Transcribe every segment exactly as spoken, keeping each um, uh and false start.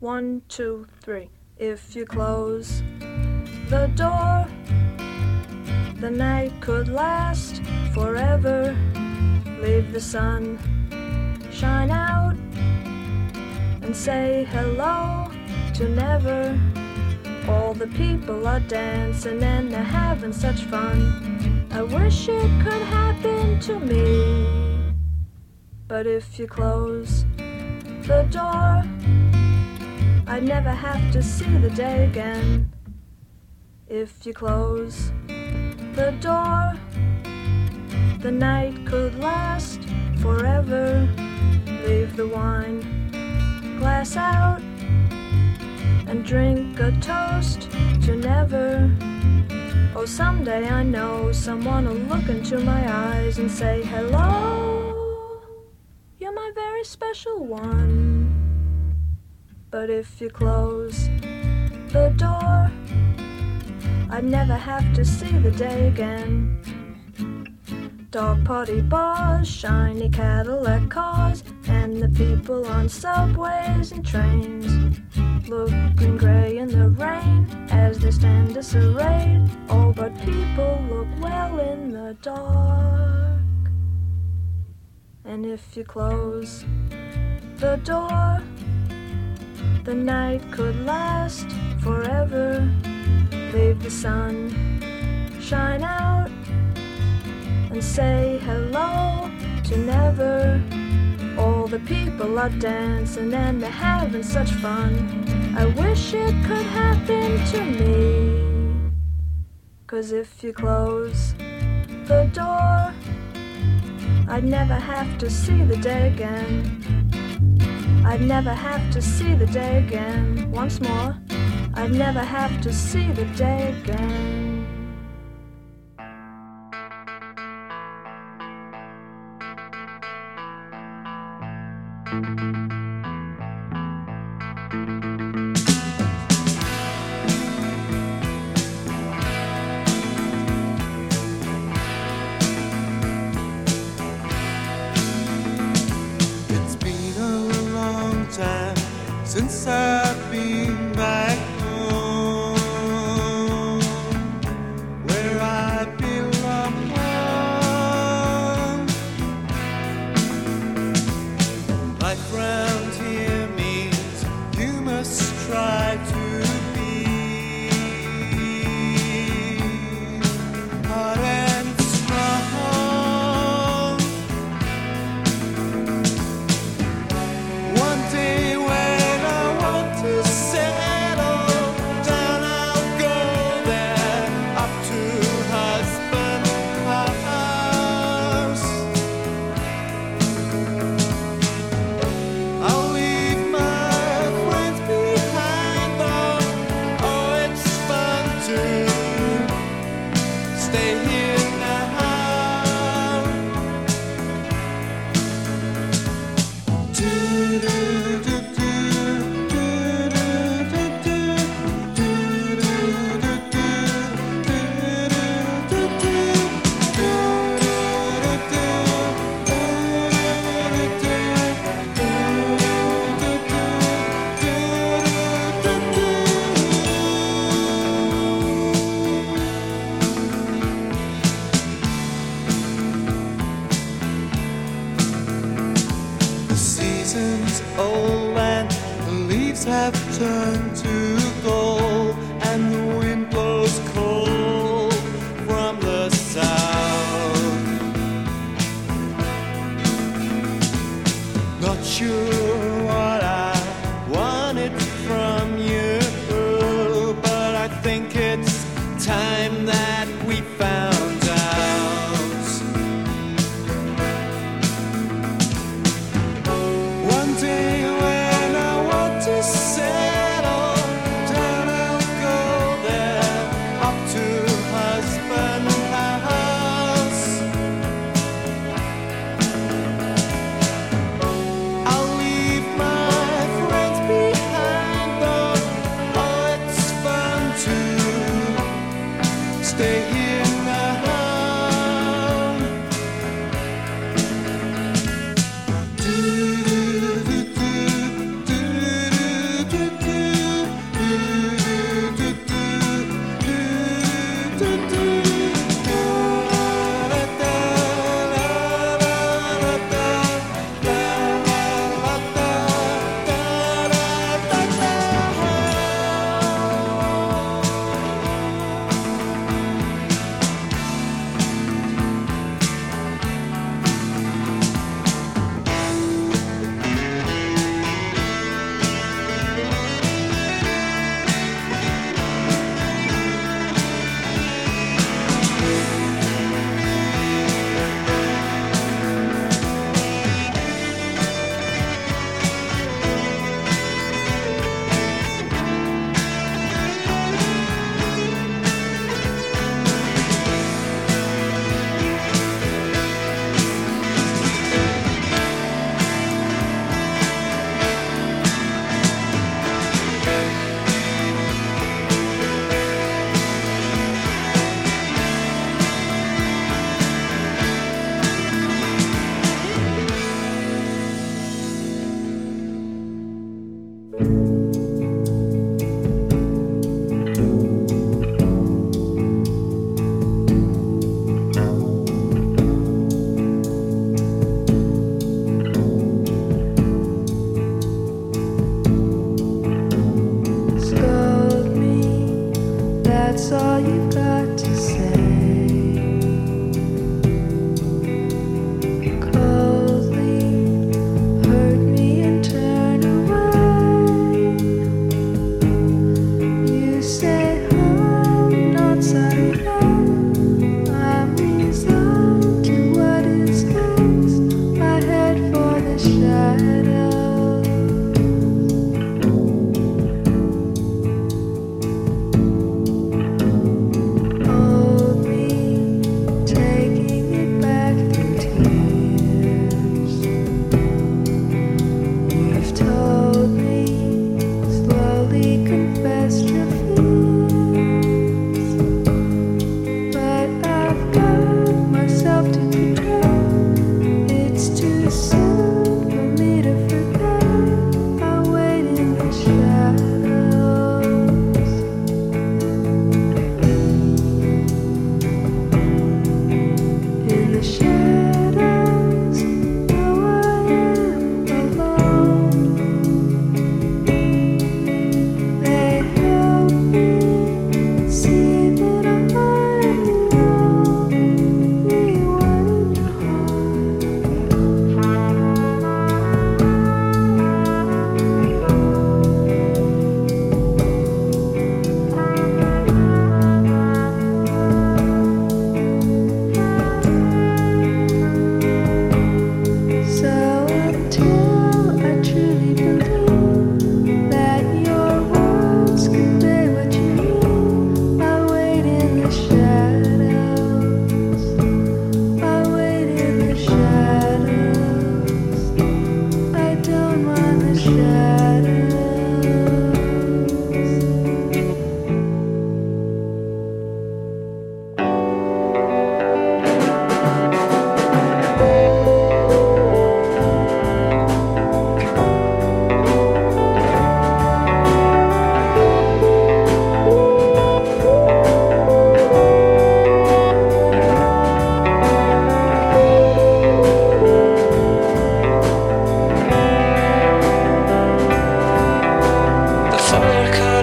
One, two, three. If you close the door, the night could last forever. Leave the sun shine out and say hello to never. All the people are dancing and they're having such fun. I wish it could happen to me. But if you close the door, I'd never have to see the day again. If you close the door, the night could last forever. Leave the wine glass out and drink a toast to never. Oh, someday I know someone will look into my eyes and say, hello, you're my very special one. But if you close the door, I'd never have to see the day again. Dog party bars, shiny Cadillac cars, and the people on subways and trains, looking grey in the rain as they stand disarrayed. Oh, but people look well in the dark. And if you close the door, the night could last forever. Leave the sun shine out and say hello to never. All the people are dancing and they're having such fun. I wish it could happen to me. 'Cause if you close the door, I'd never have to see the day again. I'd never have to see the day again. Once more, I'd never have to see the day again. Since I've been back home, where I belong, life round here means you must try to be hard and strong. One day when to settle down, I'll go there, up to husband's house. I'll leave my friends behind, though. Oh, it's fun to stay here now. Do-do-do. Old and the leaves have turned to gold, and the wind blows cold from the south. Not sure what I wanted from you, but I think it's time that we found out. One day when I want to settle down, I'll go there, up to husband's house. I'll leave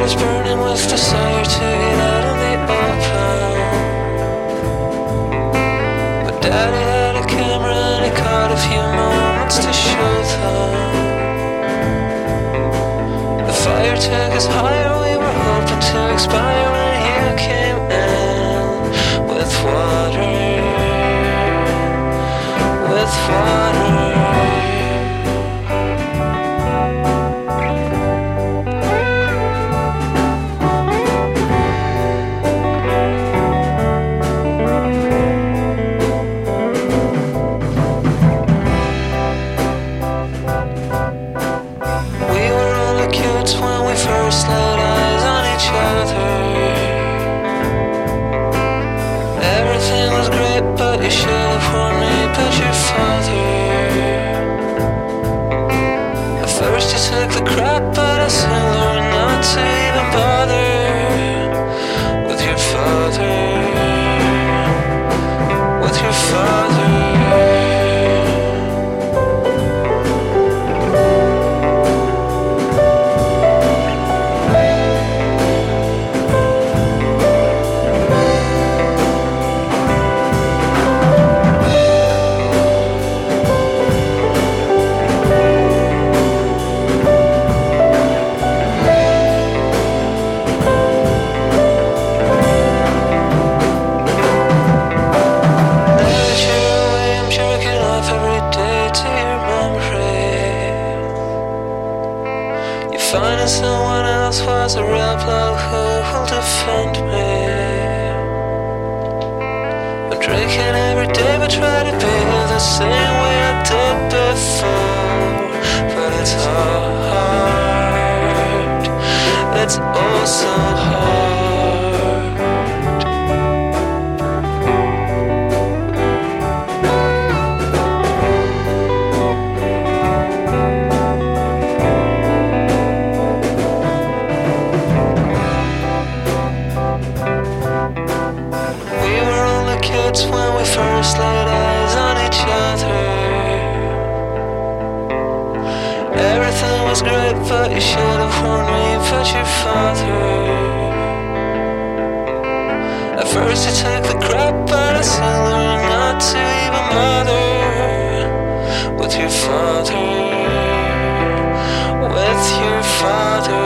was burning with desire to get out in the open. But Daddy had a camera and he caught a few moments to show them. The fire took us higher, we were hoping to expire when you came in with water, with water. First laid eyes on each other. Everything was great, but you should have warned me about your father. At first you took the crap, but I soon learned not to even bother with your father, with your father. Finding someone else was a real blow. Who will defend me? I'm drinking every day, but try to be the same way I did before. But it's hard. It's oh so hard. When we first laid eyes on each other, everything was great, but you should have warned me about your father. At first you took the crap, but I soon learned not to even bother with your father, with your father.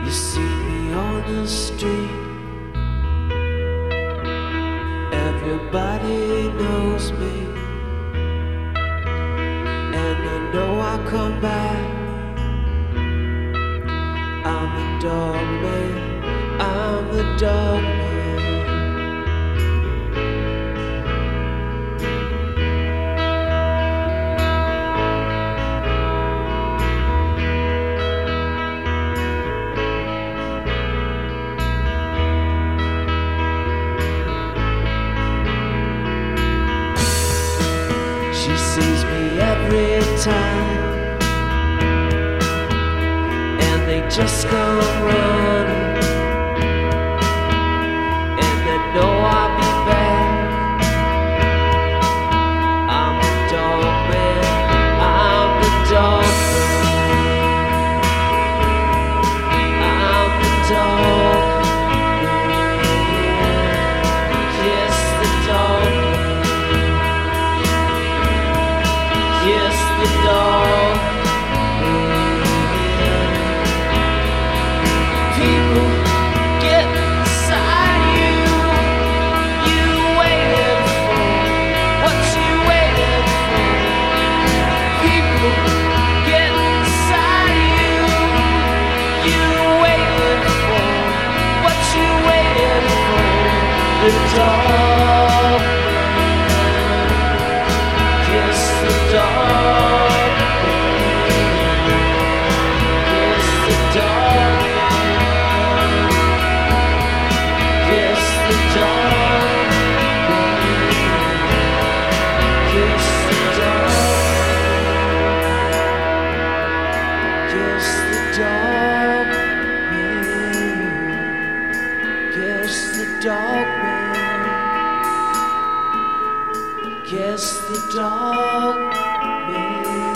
You see me on the street. Everybody knows me, and I know I'll come back. I'm the dog man, I'm the dog man. She sees me every time, and they just come running, and they know I'll be back. I'm the dog man, I'm the dog man, I'm the dog man, yes, the dog man. Yes, the dog. People get inside you. You waiting for what you waiting for. People get inside you. You waiting for what you waiting for. The dog. Yes, the dog. Yes, the dog. Yes, the dog. Yes, the dog. Yes, the dog. Yes, the dog man. Yes, the dog man.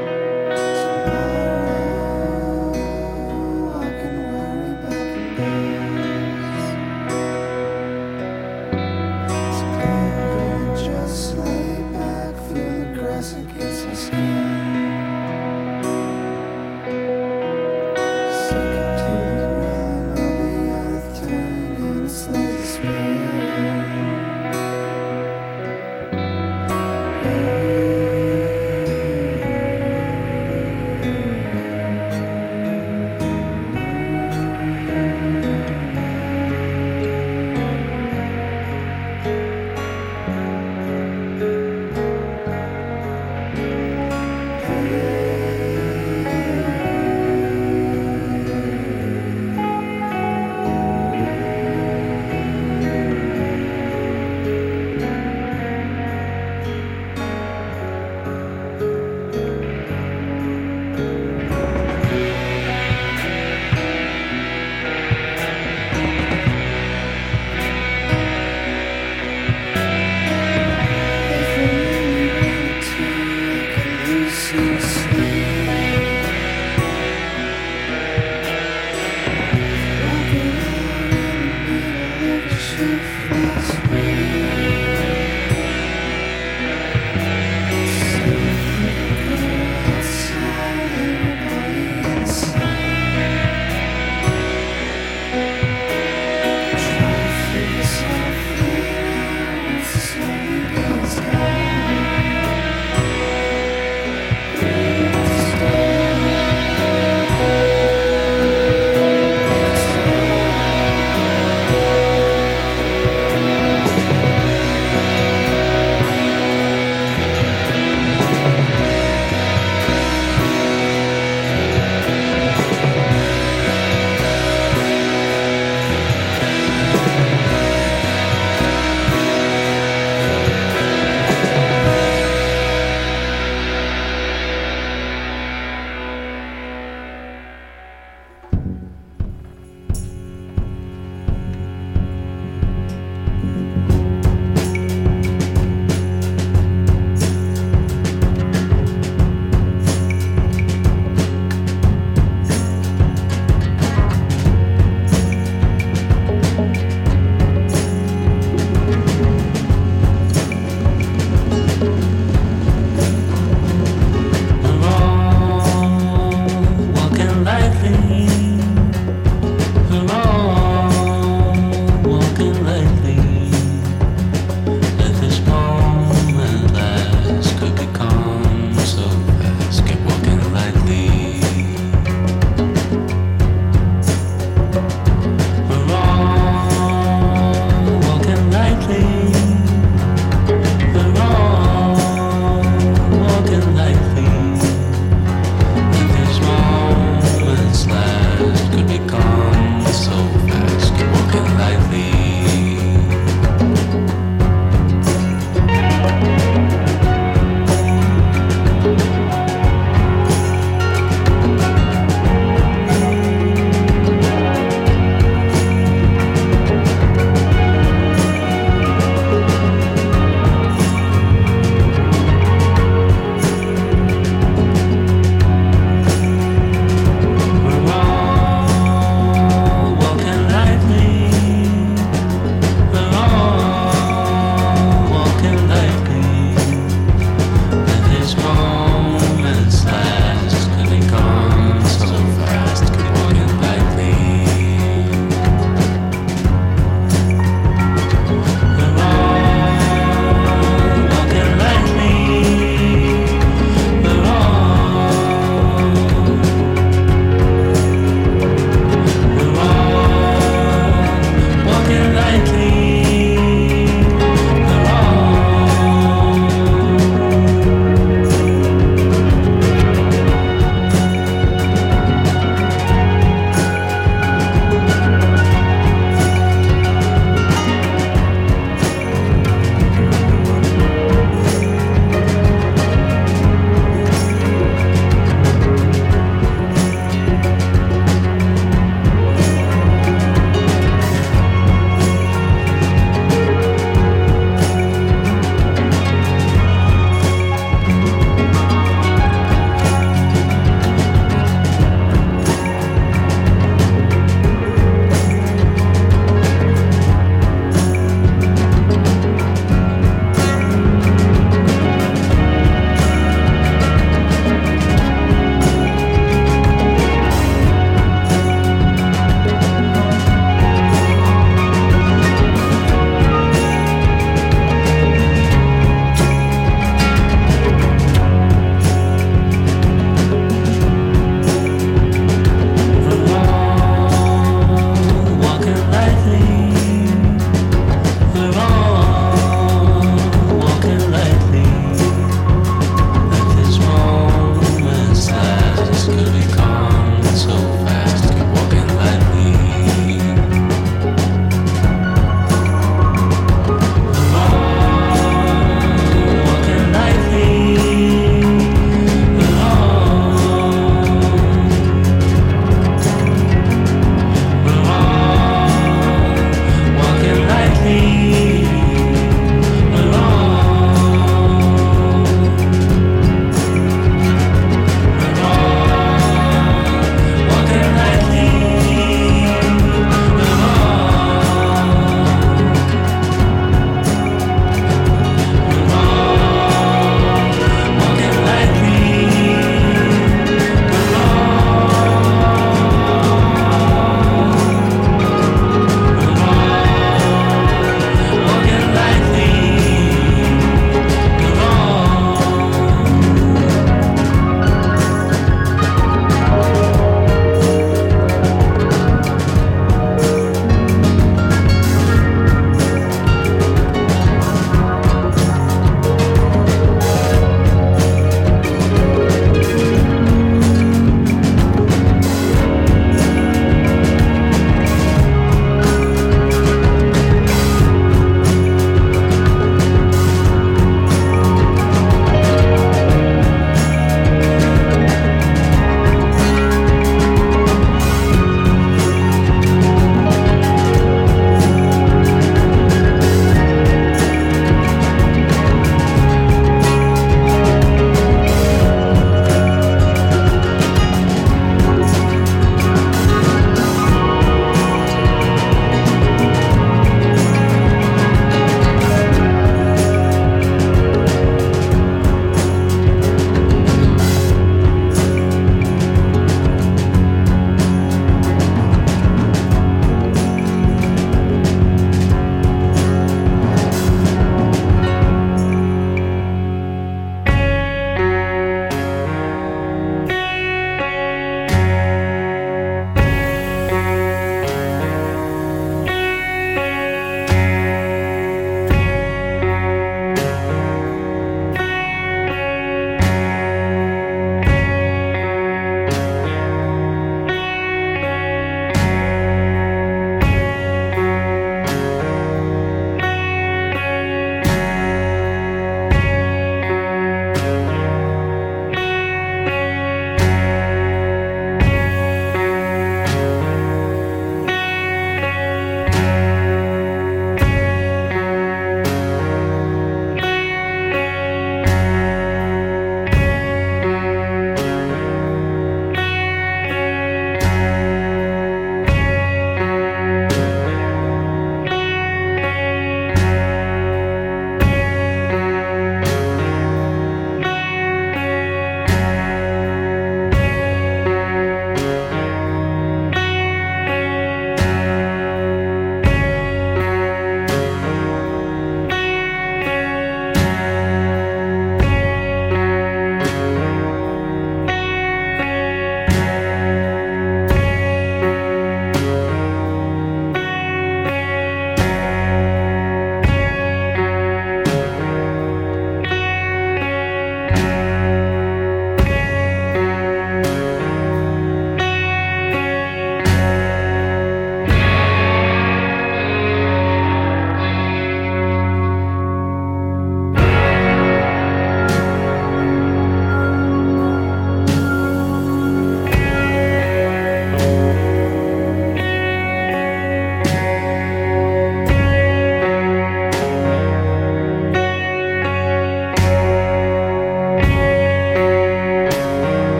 Tomorrow I can worry about the day.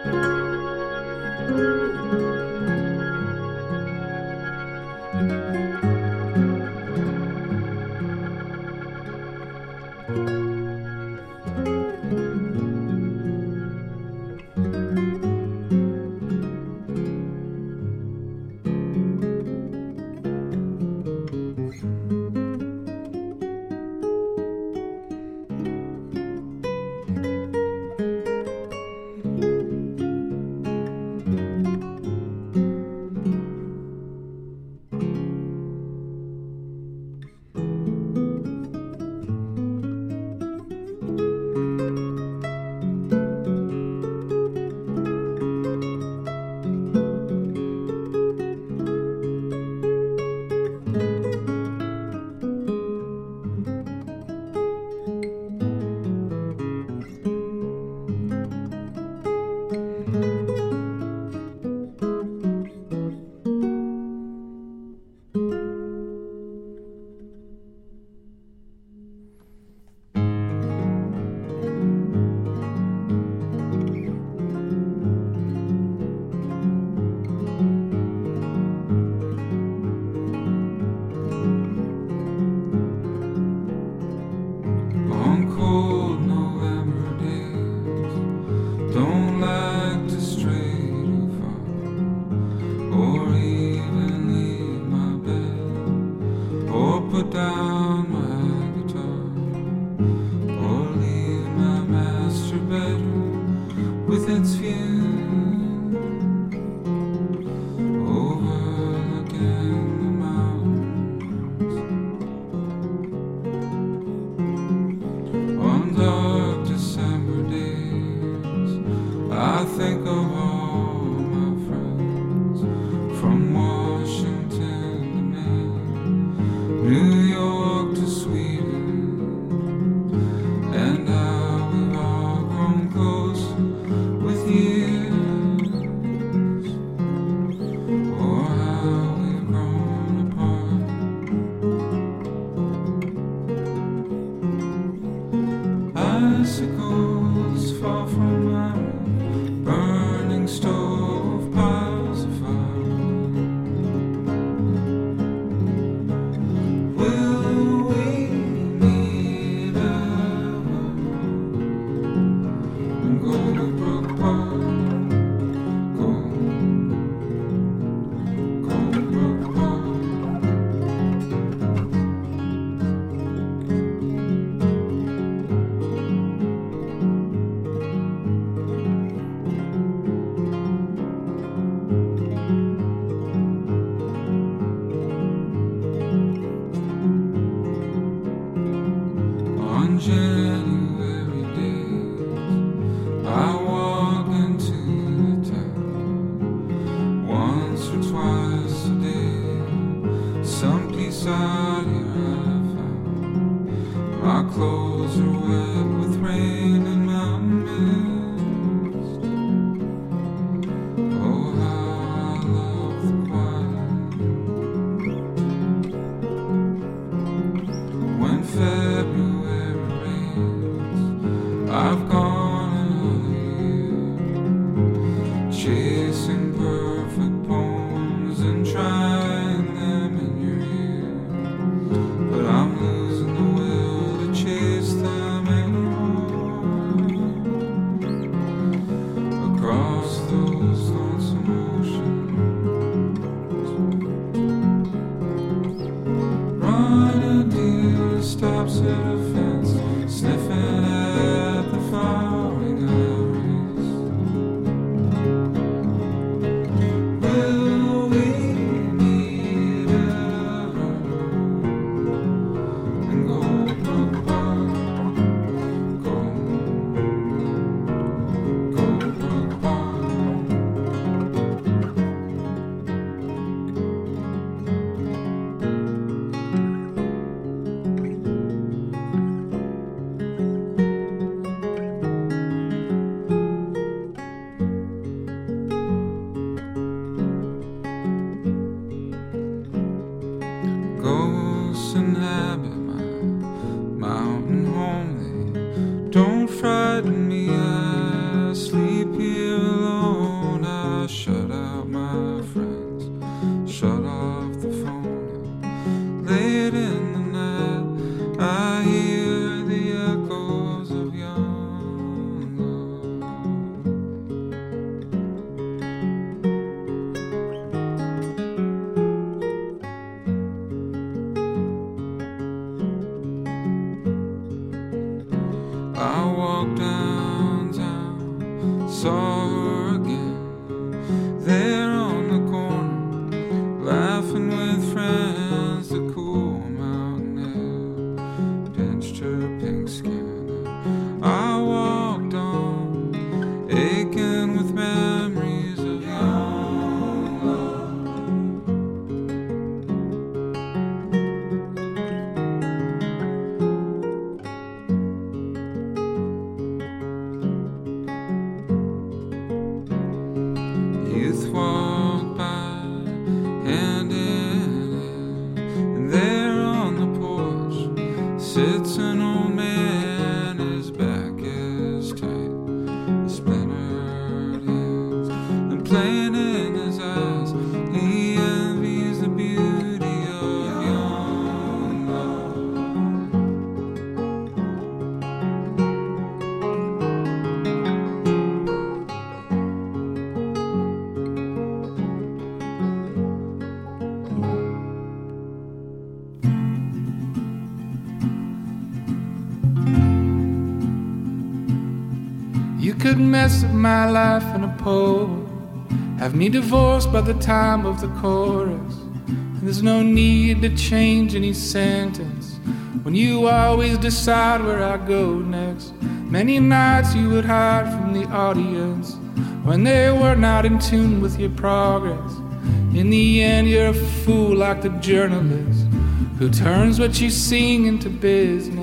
Don't frighten me, I sleep here alone. saw her again, there on the corner, laughing with friends. The cool mountain air pinched her pink skin. I walked on, aching with memories of young love. Youth walked by, hand in hand, and there on the porch sits an old man. His back is tight, his splintered hands, and playing in his eyes, he envies the beauty of young love. You could mess up my life in a poem, have me divorced by the time of the chorus. And there's no need to change any sentence when you always decide where I go next. Many nights you would hide from the audience when they were not in tune with your progress. In the end, you're a fool like the journalist who turns what you sing into business.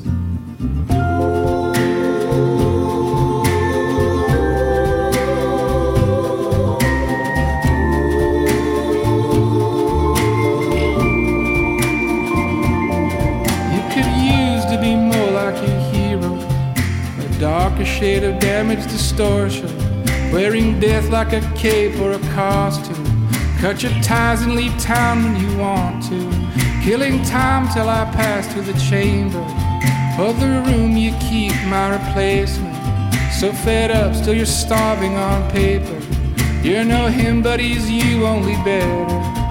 Darker shade of damaged distortion, wearing death like a cape or a costume. Cut your ties and leave town when you want to, killing time till I pass through the chamber of the room you keep my replacement. So fed up, still you're starving on paper. You're no him, but he's you, only better.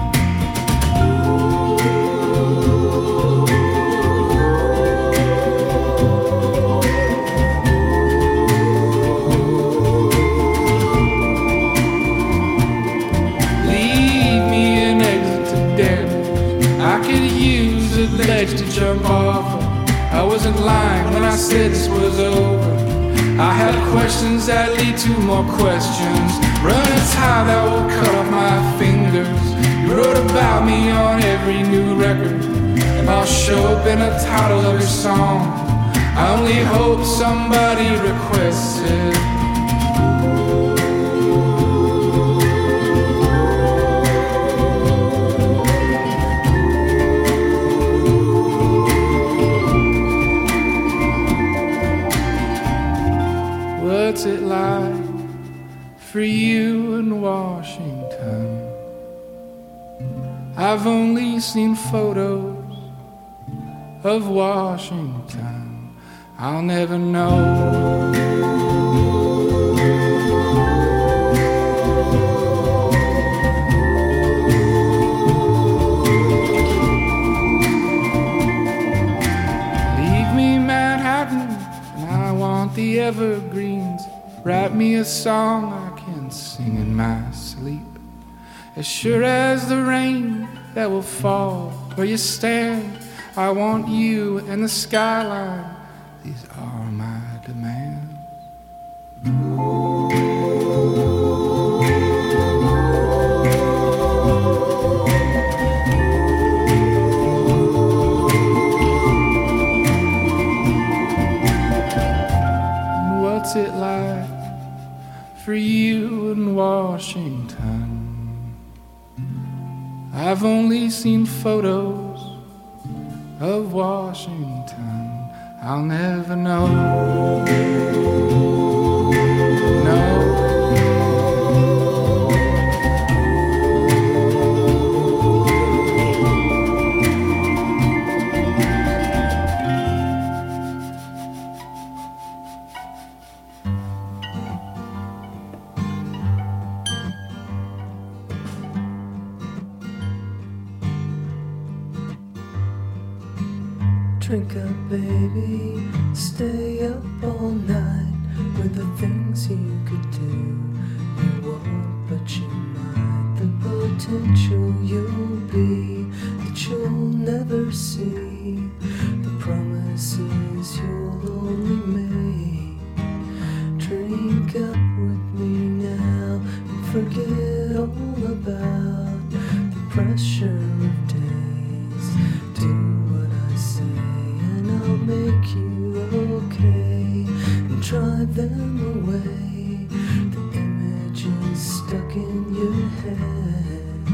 I could use a ledge to jump off of. I wasn't lying when I said this was over. I had questions that lead to more questions. Run a tie that will cut off my fingers. You wrote about me on every new record, and I'll show up in the title of your song. I only hope somebody requests it. What's it like for you in Washington? I've only seen photos of Washington. I'll never know. Leave me Manhattan, and I want the evergreens. Write me a song I can sing in my sleep. As sure as the rain that will fall where you stand, I want you and the skyline. These are my demands. And what's it like for you in Washington? I've only seen photos of Washington. I'll never know. No. Drink up, baby, stay up all night. for the things you could do. You won't, but you might. The potential you'll be that you'll never see. The promises you'll only make. Drink up with me now and forget all about the pressure of days. Do what I say and I'll make you okay and drive them away. The images stuck in your head.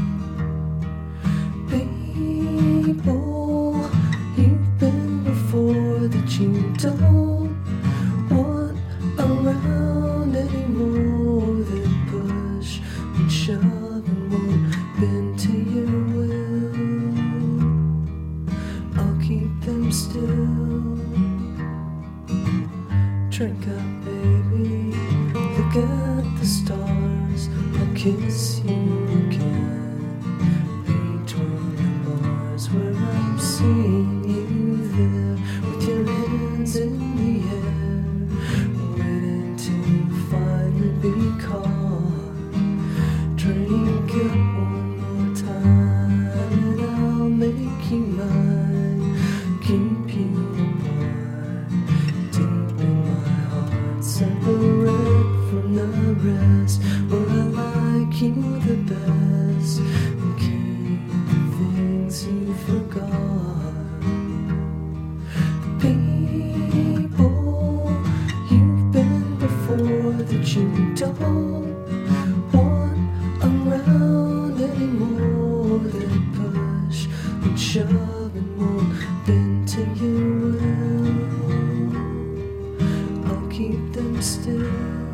People you've been before that you don't want around anymore. That push and shove and won't bend to your will. I'll keep them still. Drink up, baby. Look at the stars. I'll kiss you again. Between the bars where I'm seeing you there with your hands in the air, waiting to finally be caught. Drink up one more time and I'll make you mine. Keep you apart, deep in my heart, separate from the rest, where I like you the best and keep the things you forgot. People you've been before that you don't want around anymore. That push and shove and won't bend to your will. I'll keep them still.